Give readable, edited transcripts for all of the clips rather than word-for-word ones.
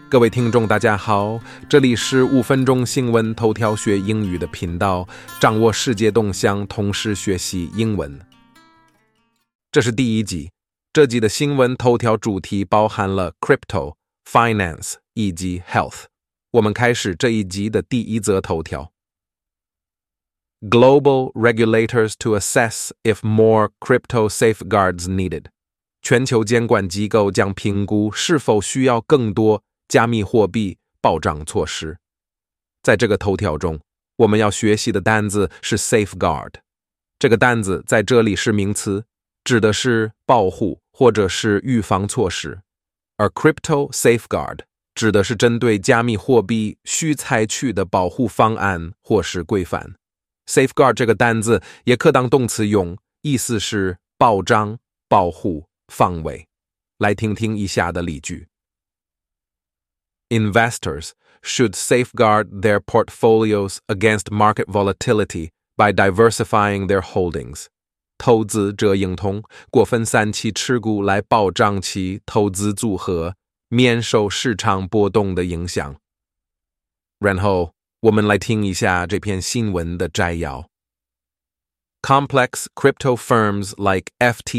各位听众大家好，这里是5分钟新闻头条学英语的频道，掌握世界动向，同时学习英文。这是第1集，这集的新闻头条主题包含了 crypto、finance 以及 health。我们开始这一集的第1则头条。Global regulators to assess if more crypto safeguards needed。全球监管机构将评估是否需要更多加密货币保障措施。在这个头条中，我们要学习的单字是 safeguard。这个单字在这里是名词，指的是保护或者是预防措施，而 crypto safeguard 指的是针对加密货币需采取的保护方案或是规范。safeguard 这个单字也可当动词用，意思是保障、保护、防卫。来听听以下的例句。Investors should safeguard their portfolios against market volatility by diversifying their holdings. 投资者应通过分散其持股来保障其投资组合免受市场波动的影响。然后我们来听一下这篇新闻的摘要。Complex crypto firms like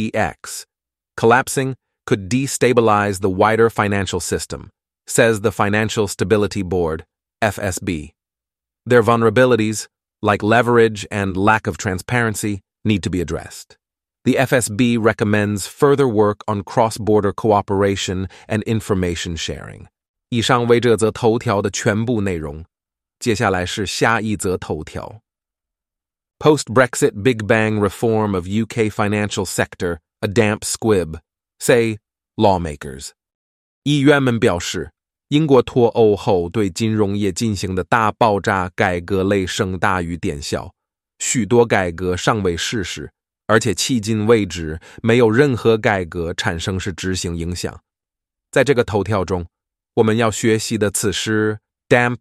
FTX collapsing could destabilize the wider financial system, says the Financial Stability Board, FSB. Their vulnerabilities, like leverage and lack of transparency, need to be addressed. The FSB recommends further work on cross-border cooperation and information sharing. 以上为这则头条的全部内容。接下来是下一则头条。Post-Brexit Big Bang reform of UK financial sector, a damp squib, say lawmakers. 议员们表示，英国脱欧后对金融业进行的大爆炸改革雷声大雨点小，许多改革尚未实施，而且迄今为止没有任何改革产生是执行影响。在这个头条中，我们要学习的词是 damp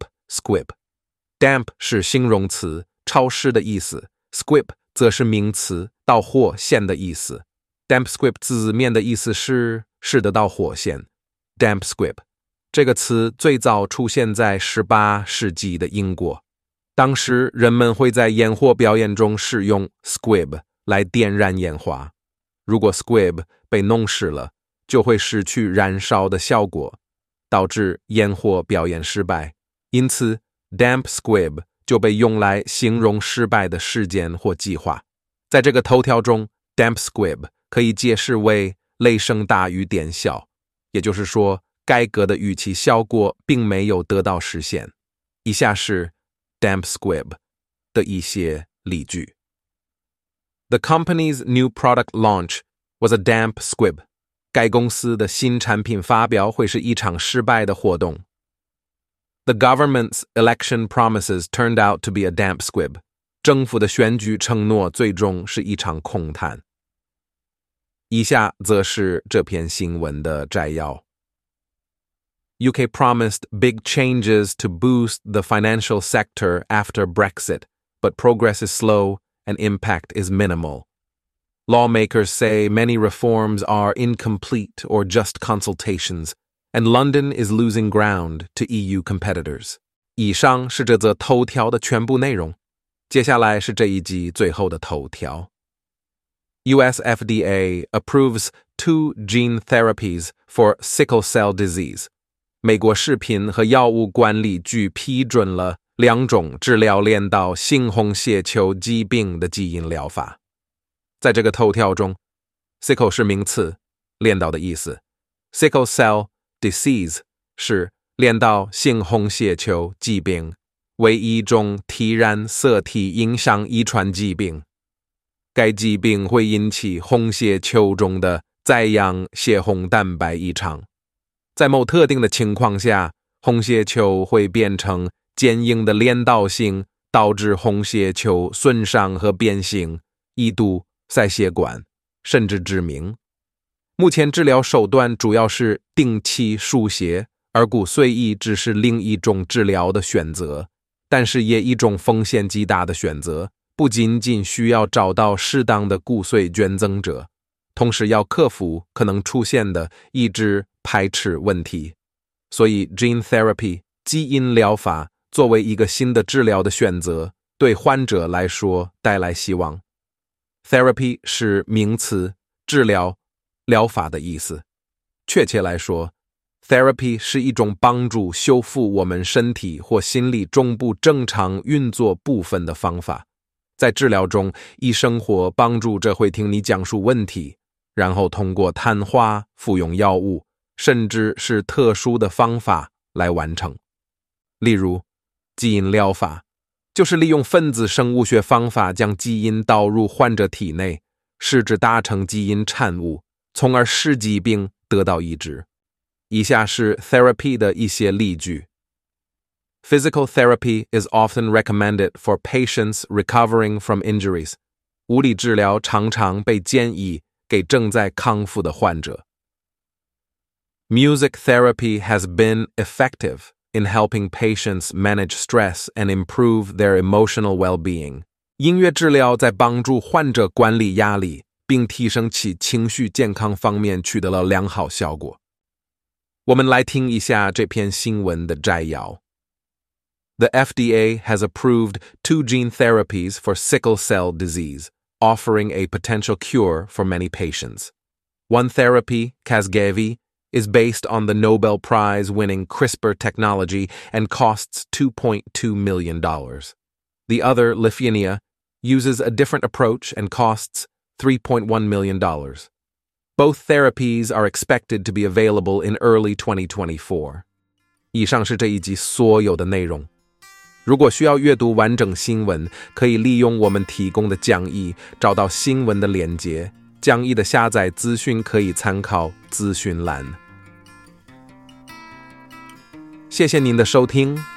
squib。damp 是形容词，潮湿的意思， squib 则是名词，导火线的意思。damp squib 字面的意思是使得导火线。damp squib 这个词最早出现在18世纪的英国，当时人们会在烟火表演中使用 squib 来点燃烟花。如果 squib 被弄湿了，就会失去燃烧的效果，导致烟火表演失败。因此 damp squib 就被用来形容失败的事件或计划。在这个头条中 damp squib 可以解释为雷声大雨点小，也就是说改革的预期效果并没有得到实现。以下是 damp squib 的一些例句。The company's new product launch was a damp squib. 该公司的新产品发表会是一场失败的活动。The government's election promises turned out to be a damp squib. 政府的选举承诺最终是一场空谈。以下则是这篇新闻的摘要。UK promised big changes to boost the financial sector after Brexit, but progress is slow and impact is minimal. Lawmakers say many reforms are incomplete or just consultations, and London is losing ground to EU competitors. 以上是这则头条的全部内容。接下来是这一集最后的头条。US FDA approves 2 gene therapies for sickle cell disease. 美国食品和药物管理局批准了2种治疗镰刀性红血球疾病的基因疗法。在这个头条中 sickle 是名词，镰刀的意思， sickle cell disease 是镰刀性红血球疾病，为一种体染色体影响遗传疾病。该疾病会引起红血球中的载氧血红蛋白异常。在某特定的情况下，红血球会变成坚硬的镰刀形，导致红血球损伤和变形，一度塞血管，甚至致命。目前治疗手段主要是定期输血，而骨髓移植是另一种治疗的选择，但是也一种风险极大的选择，不仅仅需要找到适当的骨髓捐赠者，同时要克服可能出现的抑制排斥问题。 所以 gene therapy 基因疗法作为一个新的治疗的选择，对患者来说带来希望。Therapy 是名词，治疗、疗法的意思。确切来说， Therapy 是一种帮助修复我们身体或心理中部正常运作部分的方法。在治疗中，医生或帮助者会听你讲述问题，然后通过谈话、服用药物，甚至是特殊的方法来完成。例如，基因疗法就是利用分子生物学方法将基因导入患者体内，试着达成基因产物，从而使疾病得到医治。以下是 therapy 的一些例句。Physical therapy is often recommended for patients recovering from injuries. 物理治疗常常被建议给正在康复的患者。Music therapy has been effective in helping patients manage stress and improve their emotional well-being. 音乐治疗在帮助患者管理压力，并提升其情绪健康方面取得了良好效果。我们来听一下这篇新闻的摘要。The FDA has approved 2 gene therapies for sickle cell disease, offering a potential cure for many patients. One therapy, Casgevy, is based on the Nobel Prize-winning CRISPR technology and costs $2.2 million. The other, Lyfgenia, uses a different approach and costs $3.1 million. Both therapies are expected to be available in early 2024. 以上是这一集所有的内容。如果需要阅读完整新闻，可以利用我们提供的讲义，找到新闻的连结。讲义的下载资讯可以参考资讯栏。谢谢您的收听，